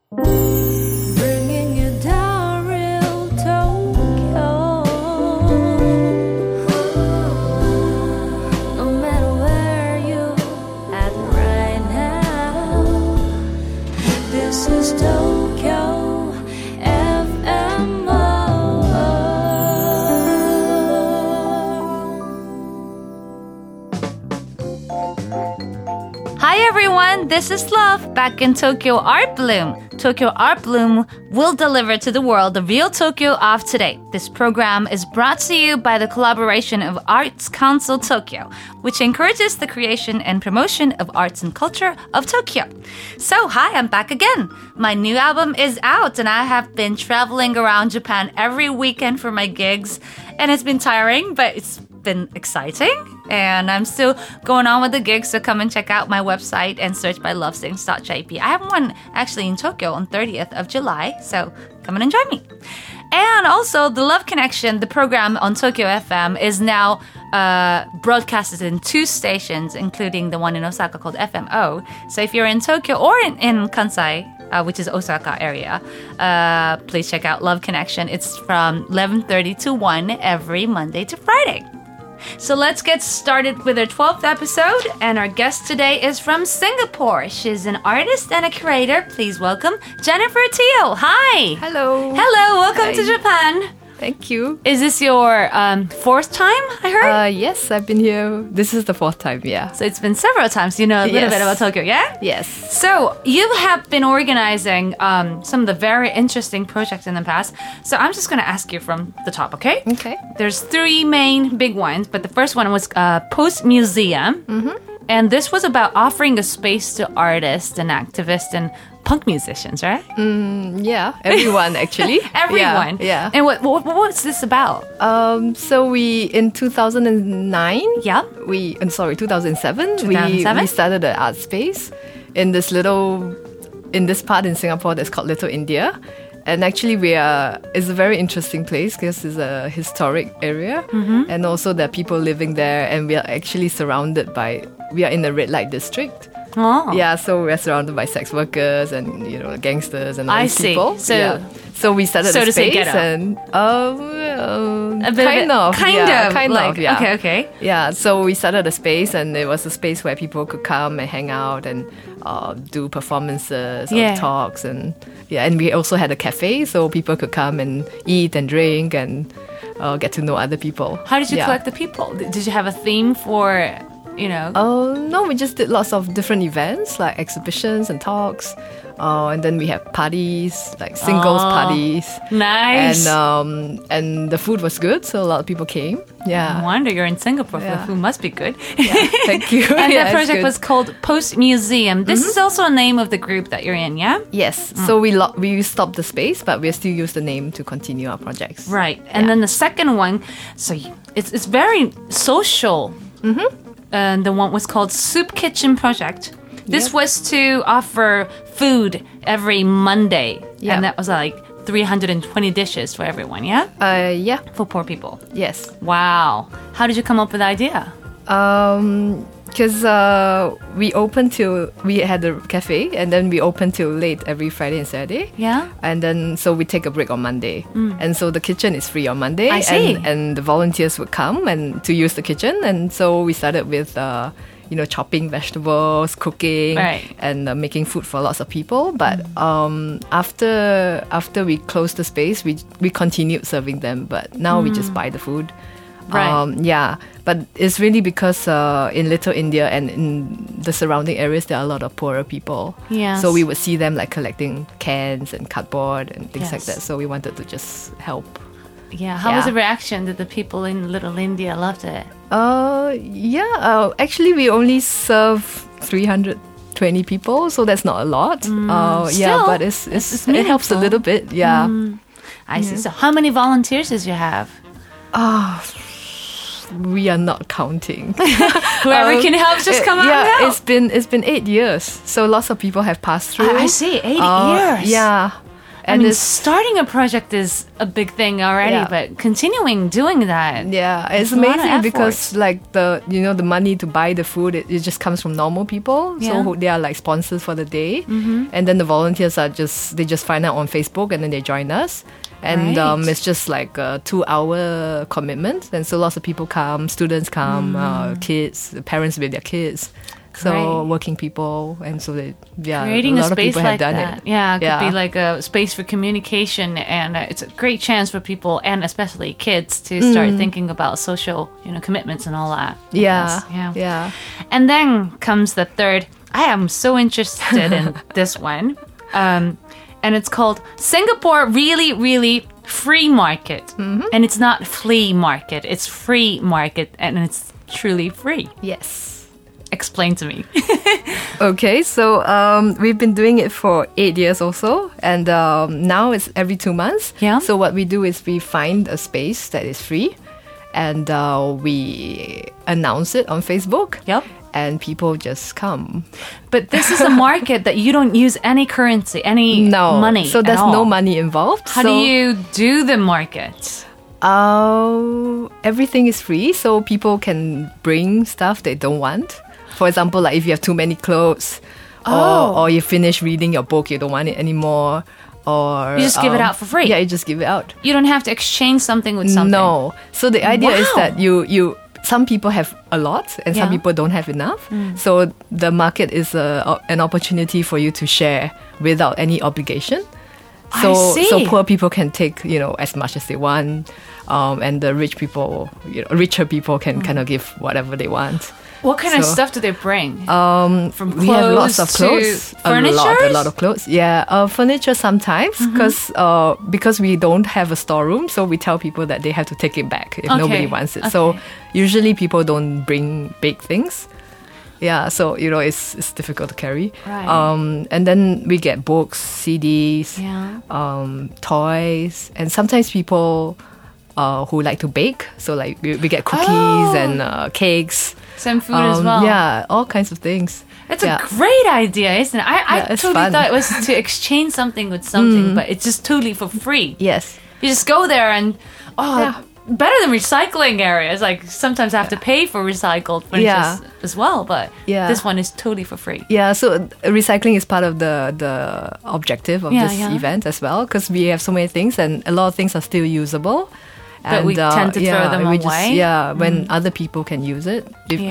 Bringing you down real Tokyo. No matter where you at right now, this is Tokyo FMO. Hi everyone, this is Love back in Tokyo Art Bloom. Tokyo Art Bloom will deliver to the world the real Tokyo of today. This program is brought to you by the collaboration of Arts Council Tokyo, which encourages the creation and promotion of arts and culture of Tokyo. So, hi, I'm back again. My new album is out and I have been traveling around Japan every weekend for my gigs, and it's been tiring, but it's been exciting, and I'm still going on with the gigs, so come and check out my website and search by lovesings.jp. I have one actually in Tokyo on 30th of July, so come and join me. And also, the Love Connection, the program on Tokyo FM, is now broadcasted in 2 stations, including the one in Osaka called FMO. So if you're in Tokyo or in Kansai, which is Osaka area, please check out Love Connection. It's from 11:30 to 1 every Monday to Friday. So let's get started with our 12th episode, and our guest today is from Singapore. She's an artist and a curator. Please welcome Jennifer Teo. Hi. Hello. Hello, welcome Hi. to Japan. Thank you. Is this your 4th time, I heard? Yes, I've been here. This is the 4th time, yeah. So it's been several times. You know a little Yes. bit about Tokyo, yeah? Yes. So you have been organizing some of the very interesting projects in the past. So I'm just going to ask you from the top, okay? Okay. There's 3 main big ones, but the first one was Post Museum. Mm-hmm. And this was about offering a space to artists and activists and punk musicians, right? Yeah, everyone actually. Everyone. Yeah. And what's this about? So we, in 2009, Yeah. 2007, 2007? we started an art space in this part in Singapore that's called Little India. And actually, it's a very interesting place because it's a historic area. Mm-hmm. And also there are people living there, and we are actually we are in the red light district. Oh. Yeah, so we're surrounded by sex workers and, gangsters and all I these see. people. So- yeah. So we started so a to say space ghetto. and A bit kind of. like, okay. Yeah, so we started a space, and it was a space where people could come and hang out and do performances Yeah. or talks, and we also had a cafe, so people could come and eat and drink and get to know other people. How did you Yeah. collect the people? Did you have a theme for, No, we just did lots of different events like exhibitions and talks. And then we have parties, like singles parties. Nice. And the food was good, so a lot of people came. No Yeah. wonder you're in Singapore. Yeah. The food must be good. Thank you. And Yeah, that it's project good. was called Post Museum. This is also a name of the group that you're in, yeah? Yes. So we stopped the space, but we still use the name to continue our projects. Right. And then the second one, so it's very social. Mm-hmm. And the one was called Soup Kitchen Project. This Yep. was to offer food every Monday. Yeah. And that was like 320 dishes for everyone, yeah? Yeah. For poor people. Yes. Wow. How did you come up with the idea? Because we had a cafe, and then we opened till late every Friday and Saturday. Yeah? And then, so we take a break on Monday. And so the kitchen is free on Monday. I see. And the volunteers would come and to use the kitchen. And so we started with, chopping vegetables, cooking, Right. and making food for lots of people. But after we closed the space, we continued serving them. But now we just buy the food. Right. Yeah, but it's really because in Little India and in the surrounding areas, there are a lot of poorer people. Yes. So we would see them like collecting cans and cardboard and things like Yes. that. So we wanted to just help. Yeah. How was Yeah. the reaction? Did the people in Little India loved it? Actually, we only serve 320 people, so that's not a lot. Still, but it's it helps a meaningful. little bit. Yeah. I see. So how many volunteers did you have? We are not counting. Whoever can help, just come out and help. it's been 8 years, so lots of people have passed through. I see, 8 years. Yeah, I mean, starting a project is a big thing already, but continuing doing that. Yeah, it's amazing because like the money to buy the food, it just comes from normal people. Yeah. So they are like sponsors for the day. And then the volunteers they just find out on Facebook and then they join us. And it's just like a 2-hour commitment. And so lots of people come, students come, kids, parents with their kids. So working people, and so creating a lot a space of people like have done that. it. Yeah, it could be like a space for communication, and it's a great chance for people, and especially kids, to start thinking about social, commitments and all that. Yeah. And then comes the third. I am so interested in this one, and it's called Singapore Really, Really Free Market, and it's not flea market; it's free market, and it's truly free. Yes. Explain to me. Okay, so we've been doing it for 8 years also, and now it's every 2 months. Yeah. So what we do is we find a space that is free, and we announce it on Facebook. Yep. And people just come. But this is a market that you don't use any currency, any money. So there's at all. no money involved. How do you do the market? Everything is free, so people can bring stuff they don't want. For example, like if you have too many clothes, or you finish reading your book, you don't want it anymore, or you just give it out for free. Yeah, you just give it out. You don't have to exchange something with something. No. So the idea is that you some people have a lot and some people don't have enough. So the market is an opportunity for you to share without any obligation. So poor people can take as much as they want, and the rich people, richer people can kind of give whatever they want. What kind of stuff do they bring? From clothes we have lots of clothes, furniture, a lot of clothes. Yeah, furniture sometimes because we don't have a storeroom, so we tell people that they have to take it back if nobody wants it. So usually people don't bring big things. Yeah, so it's difficult to carry. Right. And then we get books, CDs, toys, and sometimes people who like to bake. So like we get cookies and cakes. Some food as well. Yeah, all kinds of things. It's a great idea, isn't it? I totally thought it was to exchange something with something, but it's just totally for free. Yes. You just go there and better than recycling areas. Like sometimes I have to pay for recycled furniture as well, but this one is totally for free. Yeah, so recycling is part of the objective of this event as well, because we have so many things and a lot of things are still usable. But we tend to throw them away. When other people can use it,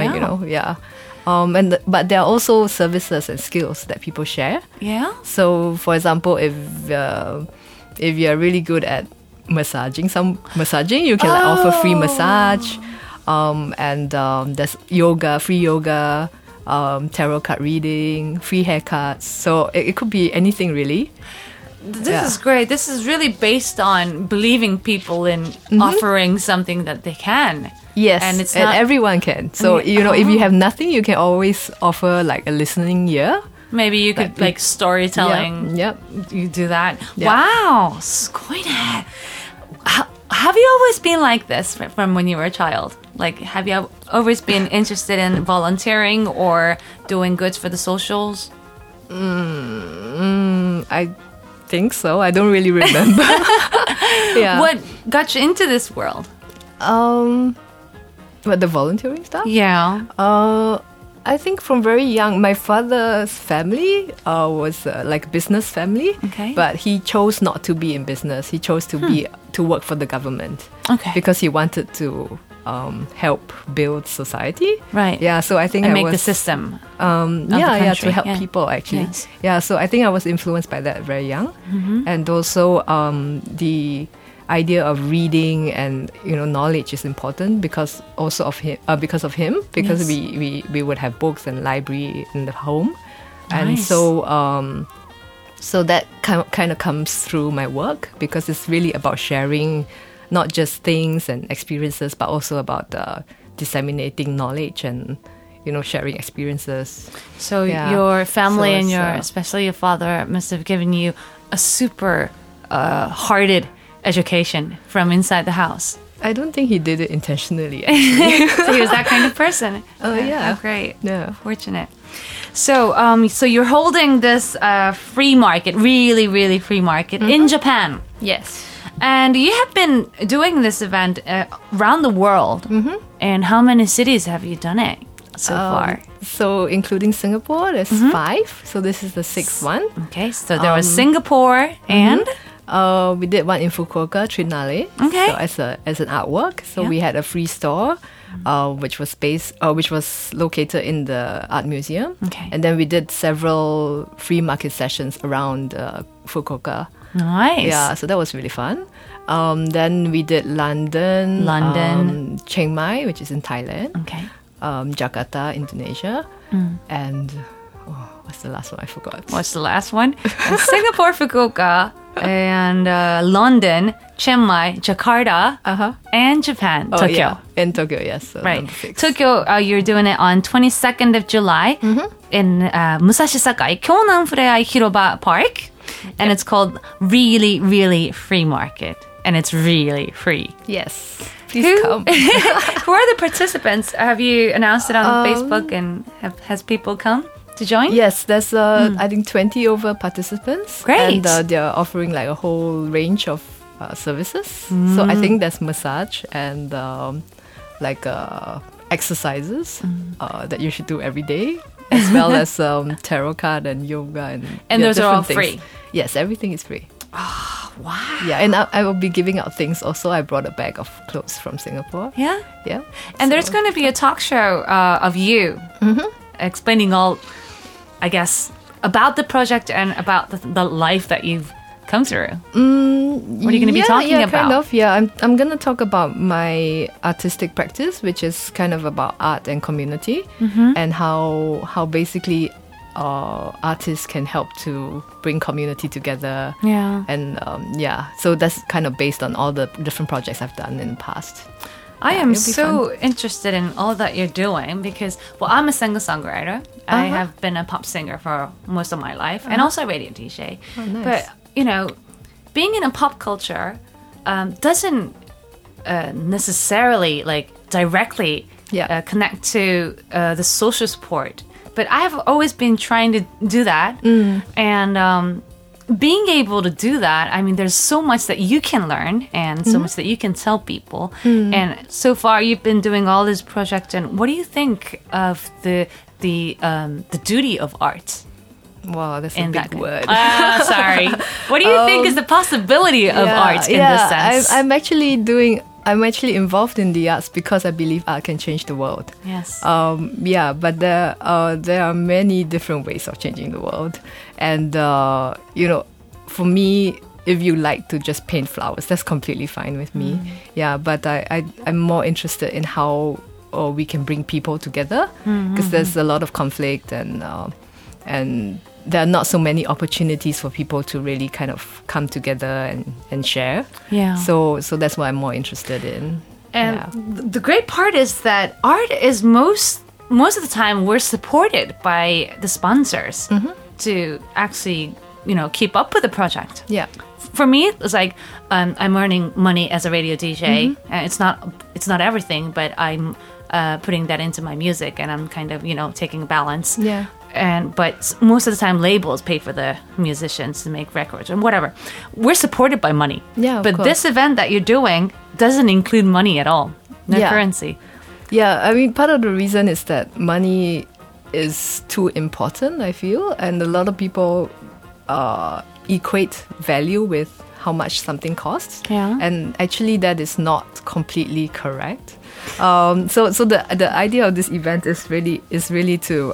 but there are also services and skills that people share. Yeah. So, for example, if you're really good at massaging, you can offer free massage, and there's yoga, free yoga, tarot card reading, free haircuts. So it could be anything really. This is great. This is really based on believing people in offering something that they can. Yes, and everyone can. So if you have nothing, you can always offer like a listening ear. Maybe you could like storytelling. Yep. You do that. Yep. Wow, skoida. Have you always been like this from when you were a child? Like, have you always been interested in volunteering or doing goods for the socials? I think so. I don't really remember. What got you into this world? What, the volunteering stuff? Yeah. I think from very young, my father's family was like a business family. Okay. But he chose not to be in business. He chose to work for the government. Okay. Because he wanted to help build society. Right. Yeah. So I think and make the system. To help people actually. Yes. Yeah. So I think I was influenced by that very young, and also the idea of reading and knowledge is important because of him because we would have books and library in the home. Nice. And so that kind of comes through my work because it's really about sharing not just things and experiences but also about disseminating knowledge and sharing experiences. So your family and especially your father must have given you a super hearted education from inside the house. I don't think he did it intentionally, actually. So he was that kind of person. Oh, yeah. Oh, great. Yeah. Fortunate. So you're holding this free market, really, really free market in Japan. Yes. And you have been doing this event around the world. And how many cities have you done it so far? So including Singapore, there's 5. So this is the 6th one. Okay, so there was Singapore and... we did one in Fukuoka, Trinale. Okay. So as an artwork. So we had a free store, which was located in the art museum. Okay. And then we did several free market sessions around Fukuoka. Nice. Yeah, so that was really fun. Then we did London, Chiang Mai, which is in Thailand. Okay. Jakarta, Indonesia, and what's the last one? I forgot. What's the last one? Singapore, Fukuoka, and London, Chiang Mai, Jakarta, and Japan, Tokyo. Yeah. In Tokyo, yes. So Right. number 6. Tokyo, you're doing it on 22nd of July in Musashi Sakai, Kyonan Fureai Hiroba Park. And it's called Really, Really Free Market. And it's really free. Yes. Please come. Who are the participants? Have you announced it on Facebook and has people come to join? Yes, there's I think 20 over participants. Great. And they're offering like a whole range of services. So I think there's massage and exercises that you should do every day, as well as tarot card and yoga and those are all things. free. Yes, everything is free. Oh, wow. Yeah, and I will be giving out things also. I brought a bag of clothes from Singapore. Yeah? Yeah. And there's going to be a talk show of you explaining all, I guess, about the project and about the life that you've come through. What are you going to be talking about? Kind of. Yeah, I'm going to talk about my artistic practice, which is kind of about art and community, and how basically artists can help to bring community together. Yeah. And so that's kind of based on all the different projects I've done in the past. I am it'll be so interested in all that you're doing because, well, I'm a singer-songwriter. I have been a pop singer for most of my life and also a radio DJ. Oh, nice. But, you know, being in a pop culture doesn't necessarily, directly connect to the social support. But I have always been trying to do that. And being able to do that, I mean, there's so much that you can learn and so much that you can tell people. And so far, you've been doing all this project. And what do you think of the duty of art? Wow, that's a big word. Sorry. What do you think is the possibility of art in this sense? I'm actually involved in the arts because I believe art can change the world. Yes. But there are many different ways of changing the world. And, for me, if you like to just paint flowers, that's completely fine with me. Yeah, but I'm more interested in how we can bring people together because there's a lot of conflict and there are not so many opportunities for people to really kind of come together and share. Yeah. So that's what I'm more interested in. And the great part is that art is most of the time we're supported by the sponsors to actually, keep up with the project. Yeah. For me, it's like I'm earning money as a radio DJ. And it's not everything, but I'm putting that into my music and I'm kind of, taking a balance. Yeah. But most of the time labels pay for the musicians to make records and whatever. We're supported by money. Yeah, but this event that you're doing doesn't include money at all. No currency. Yeah, I mean, part of the reason is that money is too important, I feel. And a lot of people equate value with how much something costs. Yeah. And actually that is not completely correct. So the idea of this event is really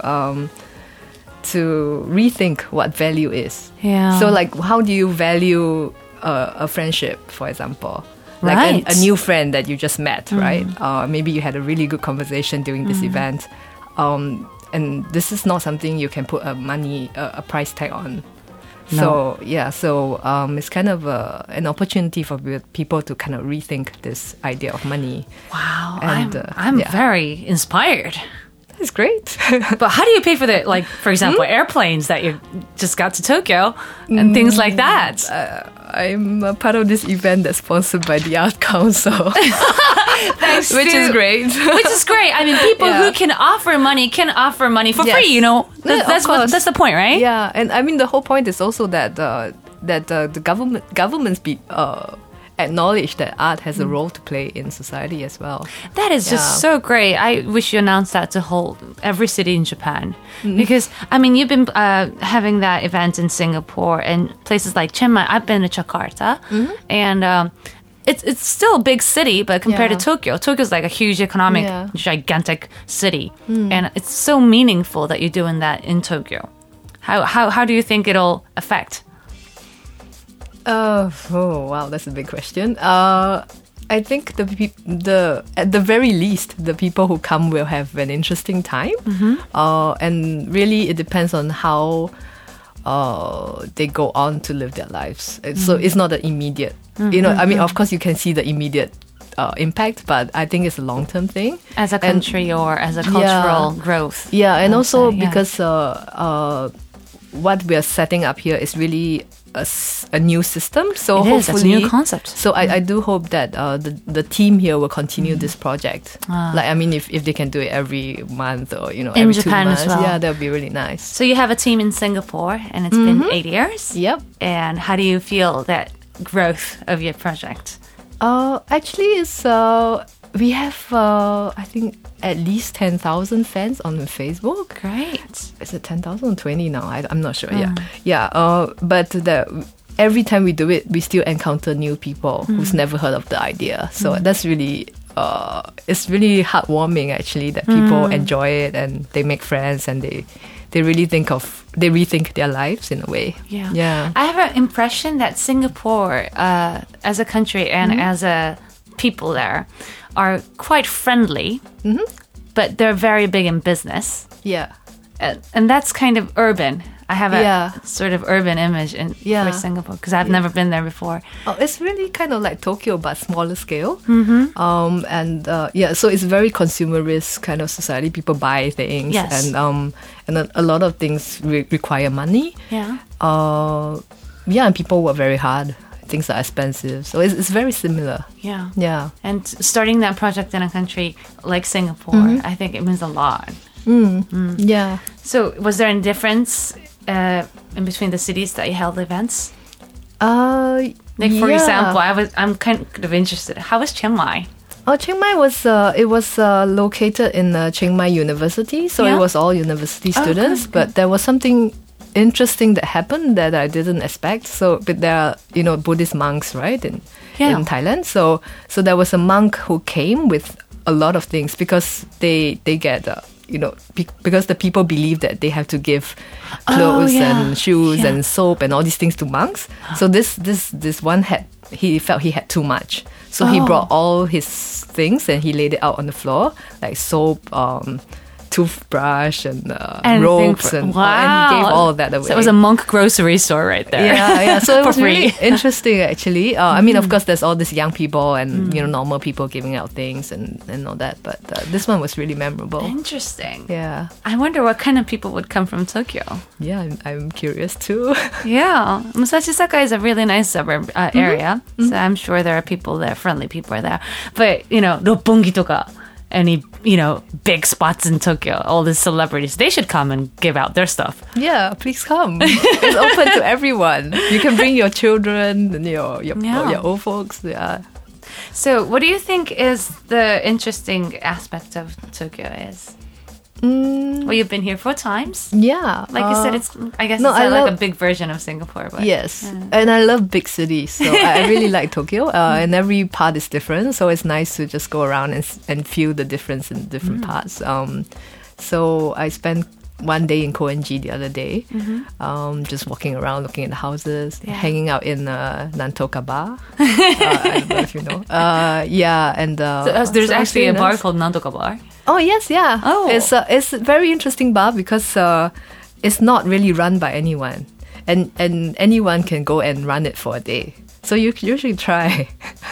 to rethink what value is. Yeah. So how do you value a friendship, for example? Right. A new friend that you just met, right? Maybe you had a really good conversation during this event. And this is not something you can put a price tag on. No. So it's kind of an opportunity for people to kind of rethink this idea of money. Wow. And, I'm very inspired. It's great. But how do you pay for the, like, for example, airplanes that you just got to Tokyo and things like that? I'm a part of this event that's sponsored by the Art Council. Which is great. Which is great. I mean, people who can offer money for free, you know. That's the point, right? Yeah, and I mean, the whole point is also that the governments acknowledge that art has a role to play in society as well. That is just so great. I wish you announced that to every city in Japan. Because, I mean, you've been having that event in Singapore and places like Chiang Mai. I've been to Jakarta. And it's still a big city, but compared to Tokyo's like a huge economic, gigantic city. And it's so meaningful that you're doing that in Tokyo. How do you think it'll affect? Oh wow, that's a big question. I think at the very least, the people who come will have an interesting time. And really, it depends on how they go on to live their lives. So it's not an immediate. You know, I mean, of course, you can see the immediate impact, but I think it's a long-term thing. As a country or as a cultural growth. Yeah, and also because what we are setting up here is really a new system. So it's a new concept. So I do hope that the team here will continue this project. Like, I mean, if they can do it every month or, you know, every Japan 2 months. as well. Yeah, that would be really nice. So you have a team in Singapore and it's been 8 years. Yep. And how do you feel that growth of your project? Actually, it's we have I think at least 10,000 fans on Facebook. Great. Is it 10,000 or 20 now? I'm not sure. But every time we do it, we still encounter new people who's never heard of the idea. So that's really it's really heartwarming actually that people enjoy it and they make friends and they rethink their lives in a way. Yeah. I have an impression that Singapore, as a country and as a people there, are quite friendly, but they're very big in business. Yeah. And that's kind of urban. I have a sort of urban image for Singapore because I've never been there before. Oh, it's really kind of like Tokyo, but smaller scale. So it's very consumerist kind of society. People buy things, and a lot of things require money. And people work very hard. Things are expensive, so it's very similar. Yeah. And starting that project in a country like Singapore, I think it means a lot. Yeah. So, was there any difference in between the cities that you held events? Like for example, I'm kind of interested. How was Chiang Mai? Oh, Chiang Mai was located in Chiang Mai University, so it was all university students. But there was something interesting that happened that I didn't expect. So, but there are Buddhist monks, right, in Thailand. So there was a monk who came with a lot of things because they get because the people believe that they have to give clothes and shoes and soap and all these things to monks. So this one he felt he had too much. So he brought all his things and he laid it out on the floor, like soap, toothbrush and ropes and he gave all of that away. So it was a monk grocery store right there. Yeah. So it was really interesting actually. I mean, of course, there's all these young people and normal people giving out things and all that. But this one was really memorable. Interesting. Yeah. I wonder what kind of people would come from Tokyo. Yeah, I'm curious too. Yeah. Musashisaka is a really nice suburb area. So I'm sure there are people there, friendly people are there. But, Roppongi toka, any, big spots in Tokyo, all these celebrities, they should come and give out their stuff. Yeah, please come. It's open to everyone. You can bring your children and your old folks. Yeah. So what do you think is the interesting aspect of Tokyo is? Well, you've been here 4 times. Yeah. Like you said, it's like a big version of Singapore. But, yes. And I love big cities. So I really like Tokyo. And every part is different. So it's nice to just go around and feel the difference in different parts. So I spent one day in Koenji the other day, just walking around, looking at the houses, hanging out in Nantoka Bar. I don't know if you know. And so there's actually a bar called Nantoka Bar. Oh yes, yeah. Oh, it's a very interesting bar because it's not really run by anyone, and anyone can go and run it for a day. So you should try.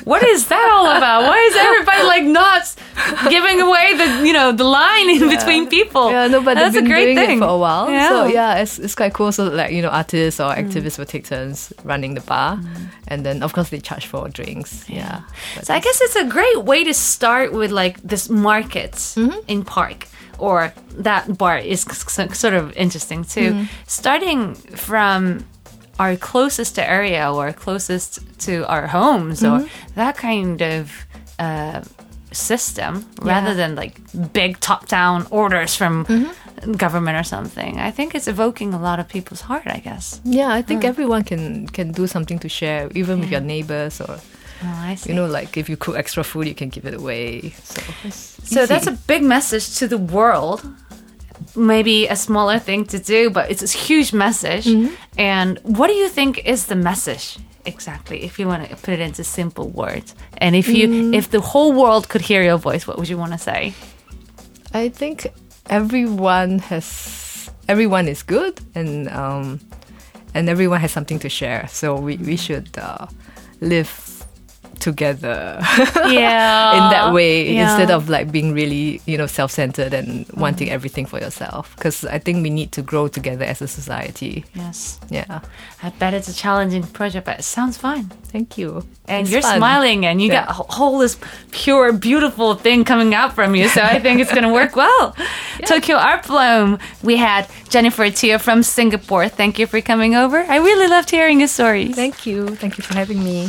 What is that all about? Why is everybody like not giving away the line in between people? Yeah, no, but that's they've been a great doing thing it for a while. Yeah. So yeah, it's quite cool. So like, artists or activists will take turns running the bar. And then of course they charge for drinks. Yeah. So I guess it's a great way to start with like this market in park. Or that bar is sort of interesting too. Starting from our closest area or closest to our homes or that kind of system rather than like big top-down orders from government or something. I think it's evoking a lot of people's heart, I guess. Yeah, I think everyone can do something to share, even with your neighbors or... I see. Like if you cook extra food, you can give it away. So that's a big message to the world. Maybe a smaller thing to do, but it's a huge message. And what do you think is the message exactly, if you want to put it into simple words? And if the whole world could hear your voice, what would you want to say? I think everyone is good, and everyone has something to share. So we should live together in that way instead of like being really self-centered and wanting everything for yourself, because I think we need to grow together as a society. Yes. Yeah, I bet it's a challenging project, but it sounds fine. Thank you. And it's you're fun. smiling and you got a whole this pure beautiful thing coming out from you, so I think it's going to work well. Tokyo Art Bloom, we had Jennifer Teo from Singapore. Thank you for coming over. I really loved hearing your stories. Thank you for having me.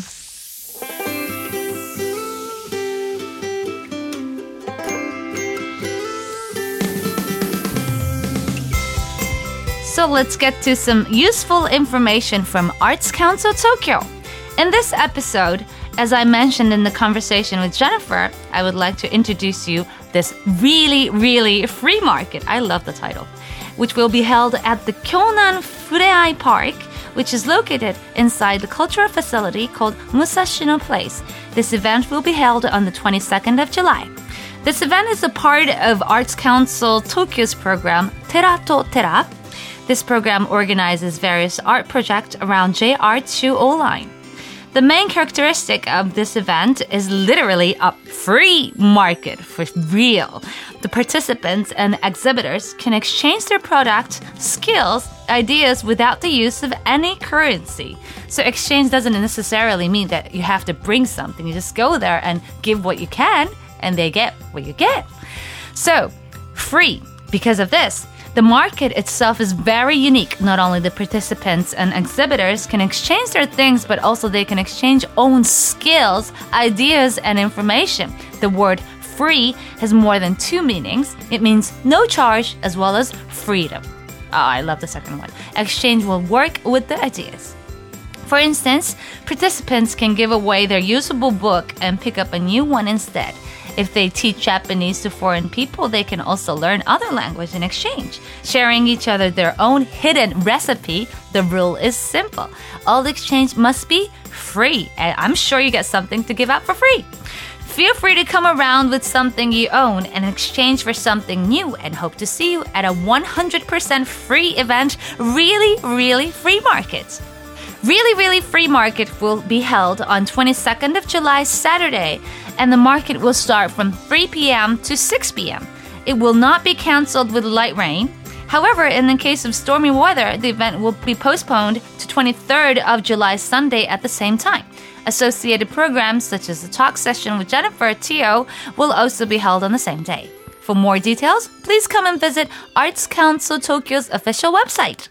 So let's get to some useful information from Arts Council Tokyo. In this episode, as I mentioned in the conversation with Jennifer, I would like to introduce you this really, really free market. I love the title. Which will be held at the Kyonan Fureai Park, which is located inside the cultural facility called Musashino Place. This event will be held on the 22nd of July. This event is a part of Arts Council Tokyo's program Tera to Tera. This program organizes various art projects around JR Chuo Line. The main characteristic of this event is literally a free market for real. The participants and exhibitors can exchange their product, skills, ideas without the use of any currency. So exchange doesn't necessarily mean that you have to bring something. You just go there and give what you can, and they get what you get. So, free. Because of this, the market itself is very unique. Not only the participants and exhibitors can exchange their things, but also they can exchange own skills, ideas, and information. The word free has more than two meanings. It means no charge as well as freedom. Oh, I love the second one. Exchange will work with the ideas. For instance, participants can give away their usable book and pick up a new one instead. If they teach Japanese to foreign people, they can also learn other language in exchange. Sharing each other their own hidden recipe, the rule is simple. All the exchange must be free, and I'm sure you get something to give out for free. Feel free to come around with something you own and exchange for something new, and hope to see you at a 100% free event, Really, Really Free Market. Really, Really Free Market will be held on 22nd of July, Saturday, and the market will start from 3 p.m. to 6 p.m. It will not be canceled with light rain. However, in the case of stormy weather, the event will be postponed to 23rd of July, Sunday at the same time. Associated programs such as the talk session with Jennifer Teo will also be held on the same day. For more details, please come and visit Arts Council Tokyo's official website.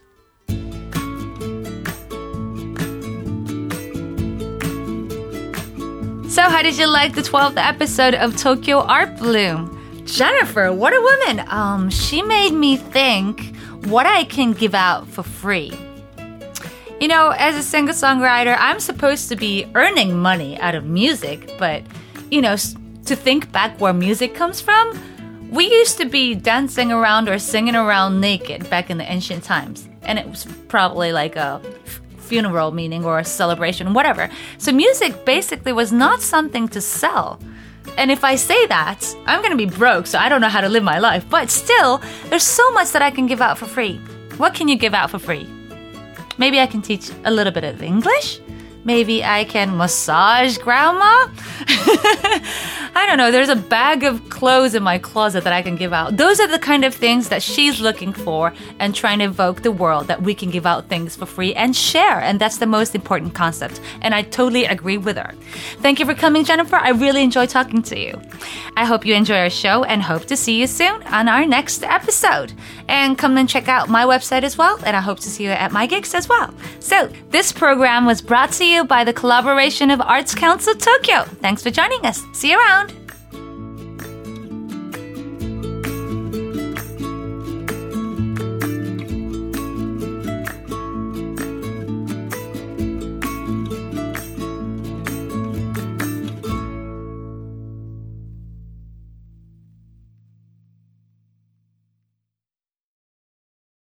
So how did you like the 12th episode of Tokyo Art Bloom? Jennifer, what a woman! She made me think what I can give out for free. You know, as a singer-songwriter, I'm supposed to be earning money out of music, but, to think back where music comes from, we used to be dancing around or singing around naked back in the ancient times. And it was probably like a funeral meaning or a celebration, whatever. So music basically was not something to sell. And if I say that, I'm going to be broke, so I don't know how to live my life. But still, there's so much that I can give out for free. What can you give out for free? Maybe I can teach a little bit of English. Maybe I can massage grandma? I don't know. There's a bag of clothes in my closet that I can give out. Those are the kind of things that she's looking for and trying to evoke the world, that we can give out things for free and share. And that's the most important concept. And I totally agree with her. Thank you for coming, Jennifer. I really enjoyed talking to you. I hope you enjoy our show and hope to see you soon on our next episode. And come and check out my website as well. And I hope to see you at my gigs as well. So this program was brought to you by the collaboration of Arts Council Tokyo. Thanks for joining us. See you around.